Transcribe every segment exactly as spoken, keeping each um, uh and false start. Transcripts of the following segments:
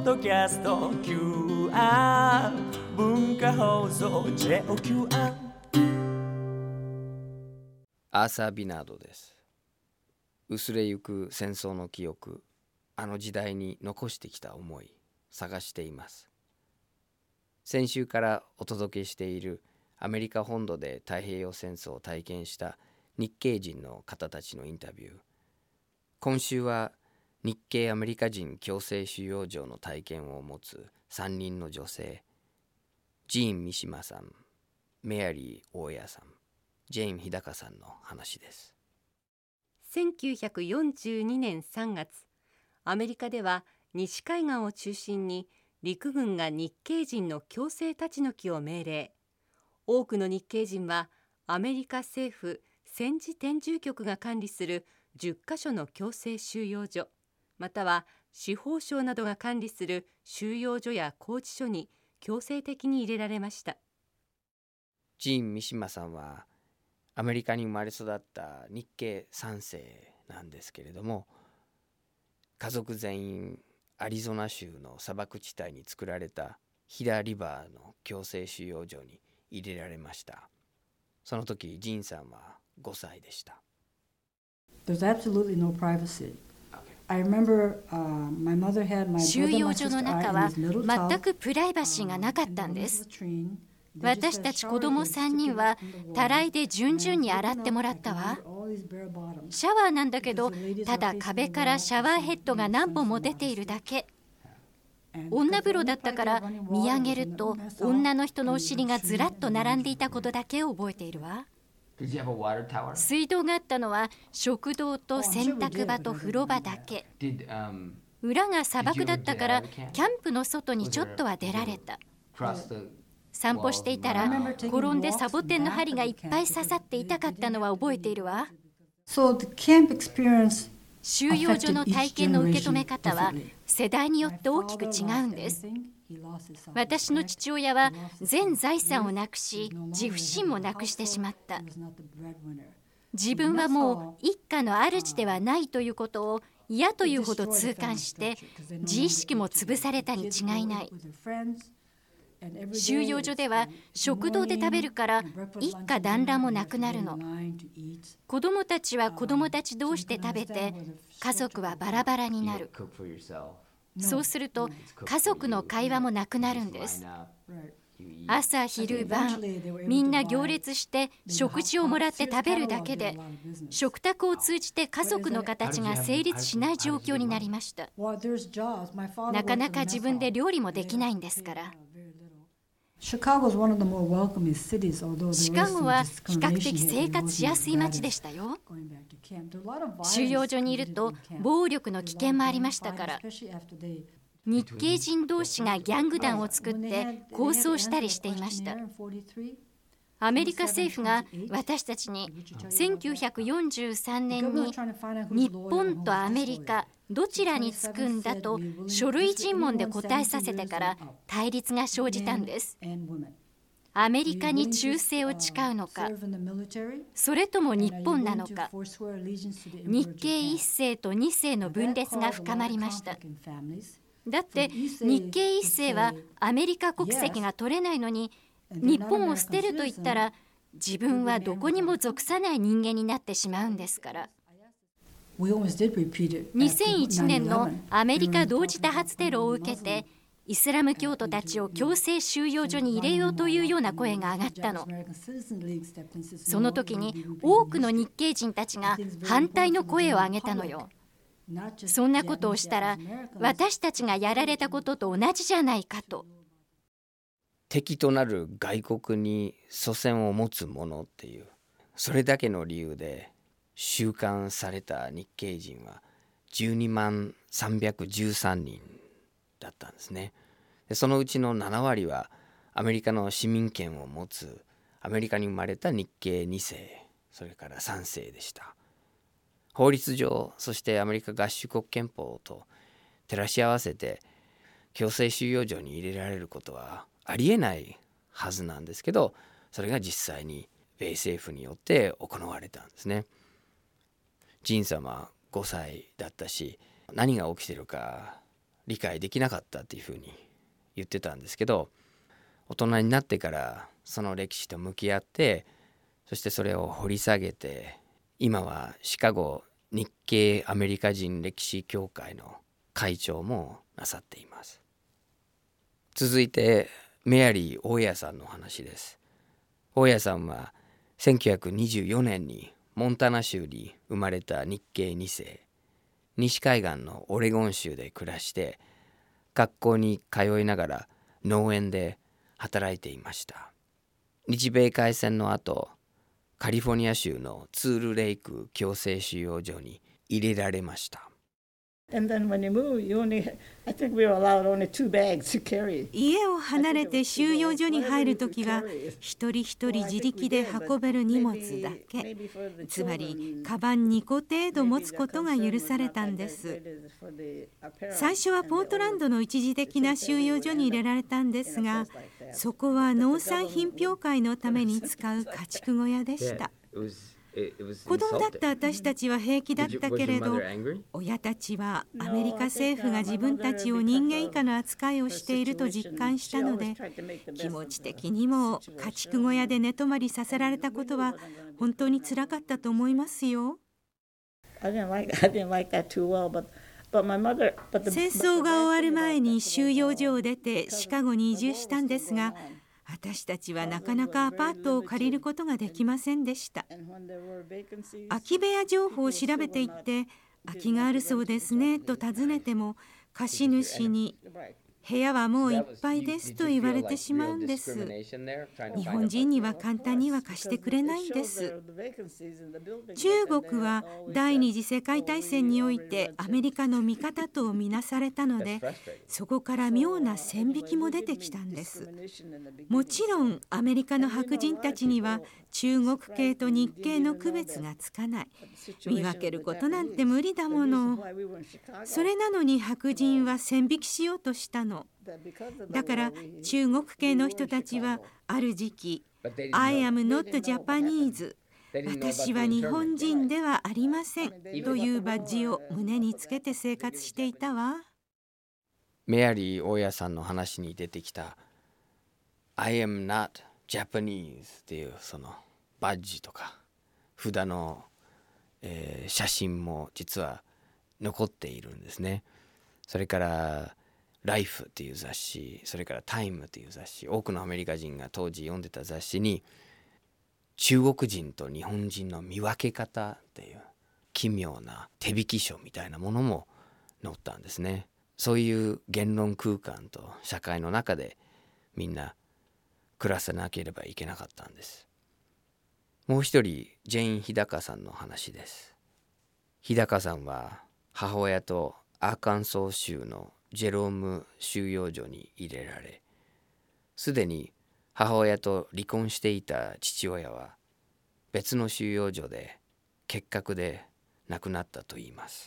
ドキャスト キューアール 文化放送 ジェイオーキューアール。 アーサー・ビナードです。薄れゆく戦争の記憶、あの時代に残してきた思い、探しています。先週からお届けしているアメリカ本土で太平洋戦争を体験した日系人の方たちのインタビュー。今週は日系アメリカ人強制収容所の体験を持つさんにんの女性、ジーン・三島さん、メアリー・大谷さん、ジェーン・日高さんの話です。 せんきゅうひゃくよんじゅうにねんさんがつ、アメリカでは西海岸を中心に陸軍が日系人の強制立ち退きを命令。多くの日系人はアメリカ政府戦時転住局が管理するじゅっかしょの強制収容所、または司法省などが管理する収容所や拘置所に強制的に入れられました。 ジーン・三島さんはアメリカに生まれ育った日系さんせいなんですけれども、家族全員アリゾナ州の砂漠地帯に作られたヒダリバーの強制収容所に入れられました。その時ジーンさんはごさいでした。 There's absolutely no privacy. I remember, uh, my mother had my 収 brother, 容 my 所の sister, 中 I, は in this little tub. 全くプライバシーがなかったんです。 They just 私 had たち shower 子供 heads さんにんは sticking up from the たら wall. いで順々に洗ってもらったわ。 I can remember all these bare bottoms. シャワーなんだけど、ただ壁からシャワーヘッドが何本も出ているだけ。女風呂だったから見上げると女の人のお尻がずらっと並んでいたことだけを覚えているわ。水道があったのは食堂と洗濯場と風呂場だけ。裏が砂漠だったからキャンプの外にちょっとは出られた。散歩していたら転んでサボテンの針がいっぱい刺さって痛かったのは覚えているわ。 So the camp experience 収容所の体験の受け止め方は世代によって大きく違うんです。私の父親は全財産をなくし、自負心もなくしてしまった。自分はもう一家の主ではないということを嫌というほど痛感して、自意識も潰されたに違いない。収容所では食堂で食べるから一家団らんもなくなるの。子供たちは子供たち同士で食べて、家族はバラバラになる。そうすると家族の会話もなくなるんです。朝昼晩みんな行列して食事をもらって食べるだけで、食卓を通じて家族の形が成立しない状況になりました。なかなか自分で料理もできないんですから。シカゴは比較的生活しやすい街でしたよ。収容所にいると暴力の危険もありましたから。日系人同士がギャング団を作って抗争したりしていました。アメリカ政府が私たちにせんきゅうひゃくよんじゅうさんねんに日本とアメリカどちらにつくんだと書類尋問で答えさせてから対立が生じたんです。アメリカに忠誠を誓うのか、それとも日本なのか。日系いっせいとにせいの分裂が深まりました。だって日系いっせいはアメリカ国籍が取れないのに、日本を捨てると言ったら自分はどこにも属さない人間になってしまうんですから。にせんいちねんのアメリカ同時多発テロを受けて、イスラム教徒たちを強制収容所に入れようというような声が上がったの。その時に多くの日系人たちが反対の声を上げたのよ。そんなことをしたら私たちがやられたことと同じじゃないかと。 敵となる外国に祖先を持つ者っていう、それだけの理由で収監された日系人はじゅうにまんさんびゃくじゅうさんにんだったんですね。でそのうちのななわりはアメリカの市民権を持つアメリカに生まれた日系にせい、それからさんせいでした。法律上、そしてアメリカ合衆国憲法と照らし合わせて強制収容所に入れられることはありえないはずなんですけど、それが実際に米政府によって行われたんですね。ジンさんはごさいだったし、何が起きてるか理解できなかったっていうふうに言ってたんですけど、大人になってからその歴史と向き合って、そしてそれを掘り下げて、今はシカゴ日系アメリカ人歴史協会の会長もなさっています。続いてメアリー大家さんの話です。大家さんはせんきゅうひゃくにじゅうよねんにモンタナ州に生まれた日系に世、西海岸のオレゴン州で暮らして、学校に通いながら農園で働いていました。日米開戦の後、カリフォルニア州のツールレイク強制収容所に入れられました。 家を離れて収容所に入るときは、一人一人自力で運べる荷物だけ、つまりカバンにこ程度持つことが許されたんです。最初はポートランドの一時的な収容所に入れられたんですが、そこは農産品評会のために使う家畜小屋でした。子供だった私たちは平気だったけれど、親たちはアメリカ政府が自分たちを人間以下の扱いをしていると実感したので、気持ち的にも家畜小屋で寝泊まりさせられたことは本当につらかったと思いますよ。戦争が終わる前に収容所を出てシカゴに移住したんですが、私たちはなかなかアパートを借りることができませんでした。空き部屋情報を調べていって、空きがあるそうですねと尋ねても、貸主に部屋はもういっぱいですと言われてしまうんです。日本人には簡単には貸してくれないんです。中国は第二次世界大戦においてアメリカの味方とみなされたので、そこから妙な線引きも出てきたんです。もちろんアメリカの白人たちには中国系と日系の区別がつかない。見分けることなんて無理だもの。それなのに白人は線引きしようとしたの。だから中国系の人たちはある時期 I am not Japanese、 私は日本人ではありませんというバッジを胸につけて生活していたわ。 メアリー大家さんの話に出てきた I am not Japanese っていうそのバッジとか札の、えー、写真も実は残っているんですね。それからライフっていう雑誌、それからタイムっていう雑誌、多くのアメリカ人が当時読んでた雑誌に中国人と日本人の見分け方っていう奇妙な手引き書みたいなものも載ったんですね。そういう言論空間と社会の中でみんな暮らさなければいけなかったんです。もう一人、ジェーン・日高さんの話です。日高さんは母親とアーカンソー州のジェローム収容所に入れられ、すでに母親と離婚していた父親は別の収容所で結核で亡くなったといいます。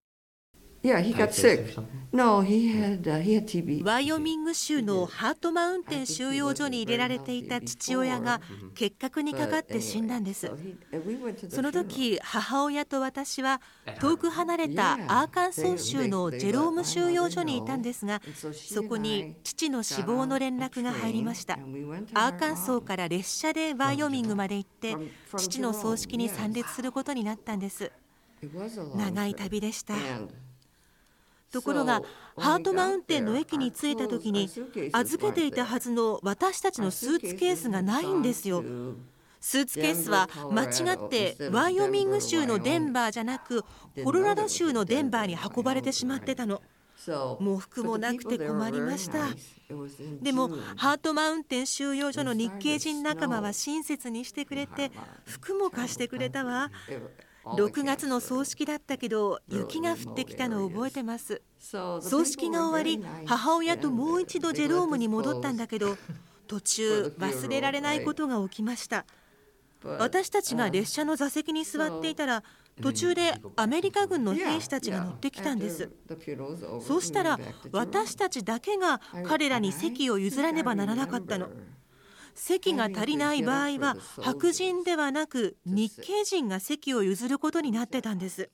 Yeah, he got sick. No, he had, uh, he had T B. ワイオミング州のハートマウンテン収容所に入れられていた父親が結核にかかって死んだんです。その時、母親と私は遠く離れたアーカンソー州のジェローム収容所にいたんですが、そこに父の死亡の連絡が入りました。アーカンソーから列車でワイオミングまで行って父の葬式に参列することになったんです。長い旅でした。ところがハートマウンテンの駅に着いた時に預けていたはずの私たちのスーツケースがないんですよ。スーツケースは間違ってワイオミング州のデンバーじゃなくコロラド州のデンバーに運ばれてしまってたの。喪服もなくて困りました。でもハートマウンテン収容所の日系人仲間は親切にしてくれて服も貸してくれたわ。ろくがつの葬式だったけど雪が降ってきたのを覚えてます。葬式が終わり母親ともう一度ジェロームに戻ったんだけど途中忘れられないことが起きました。私たちが列車の座席に座っていたら途中でアメリカ軍の兵士たちが乗ってきたんです。そうしたら私たちだけが彼らに席を譲らねばならなかったの。席が足りない場合は白人ではなく日系人が席を譲ることになってたんです。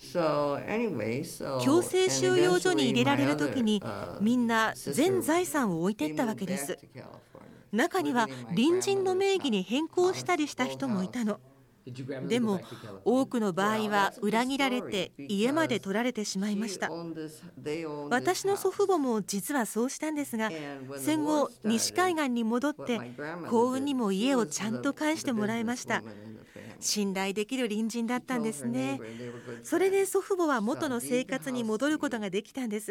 強制収容所に入れられるときにみんな全財産を置いていったわけです。中には隣人の名義に変更したりした人もいたの。でも多くの場合は裏切られて家まで取られてしまいました。私の祖父母も実はそうしたんですが、戦後西海岸に戻って幸運にも家をちゃんと返してもらいました。信頼できる隣人だったんですね。それで祖父母は元の生活に戻ることができたんです。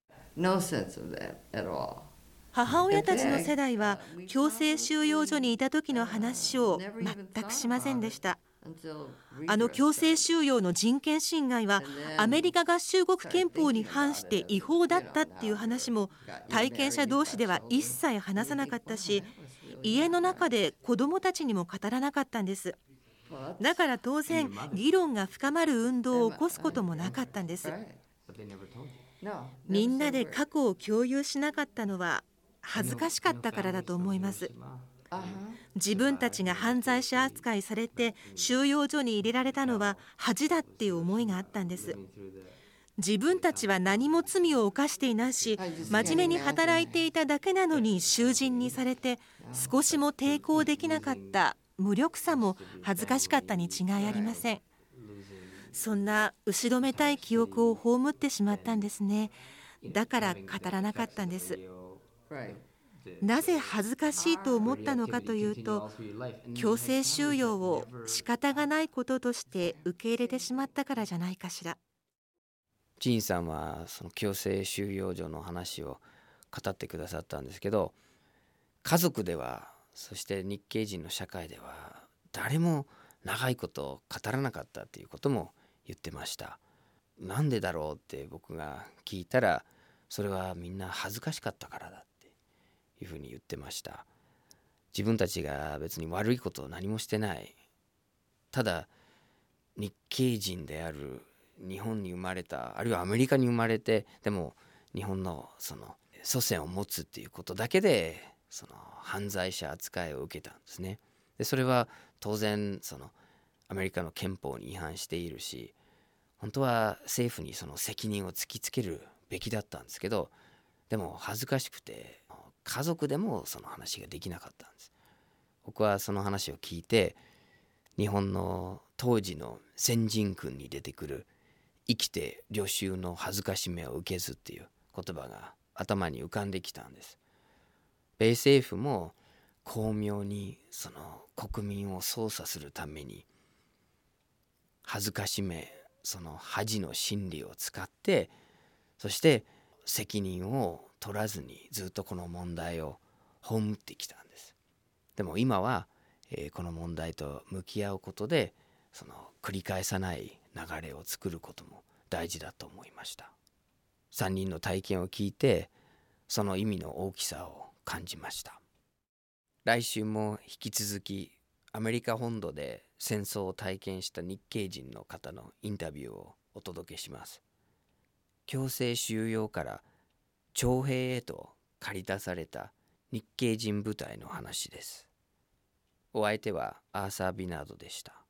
母親たちの世代は強制収容所にいた時の話を全くしませんでした。あの強制収容の人権侵害はアメリカ合衆国憲法に反して違法だったっていう話も体験者同士では一切話さなかったし、家の中で子どもたちにも語らなかったんです。だから当然議論が深まる運動を起こすこともなかったんです。みんなで過去を共有しなかったのは恥ずかしかったからだと思います。自分たちが犯罪者扱いされて収容所に入れられたのは恥だっていう思いがあったんです。自分たちは何も罪を犯していないし、真面目に働いていただけなのに囚人にされて少しも抵抗できなかった無力さも恥ずかしかったに違いありません。そんな後ろめたい記憶を葬ってしまったんですね。だから語らなかったんです。なぜ恥ずかしいと思ったのかというと、強制収容を仕方がないこととして受け入れてしまったからじゃないかしら。 ジンさんはその強制収容所の話を語ってくださったんですけど、家族では、そして日系人の社会では誰も長いこと語らなかったっていうことも言ってました。なんでだろうって僕が聞いたら、それはみんな恥ずかしかったからだっていうふうに言ってました。自分たちが別に悪いことを何もしてない、ただ日系人である、日本に生まれた、あるいはアメリカに生まれて、でも日本のその祖先を持つっていうことだけでその犯罪者扱いを受けたんですね。でそれは当然そのアメリカの憲法に違反しているし、本当は政府にその責任を突きつけるべきだったんですけど、でも恥ずかしくて家族でもその話ができなかったんです。僕はその話を聞いて、日本の当時の先人訓に出てくる生きて領袖の恥ずかしめを受けずっていう言葉が頭に浮かんできたんです。米政府も巧妙にその国民を操作するために恥ずかしめ、その恥の心理を使って、そして責任を取らずにずっとこの問題を葬ってきたんです。でも今は、えー、この問題と向き合うことで、その繰り返さない流れを作ることも大事だと思いました。さんにんの体験を聞いて、その意味の大きさを感じました。来週も引き続きアメリカ本土で戦争を体験した日系人の方のインタビューをお届けします。強制収容から徴兵へと駆り出された日系人部隊の話です。お相手はアーサー・ビナードでした。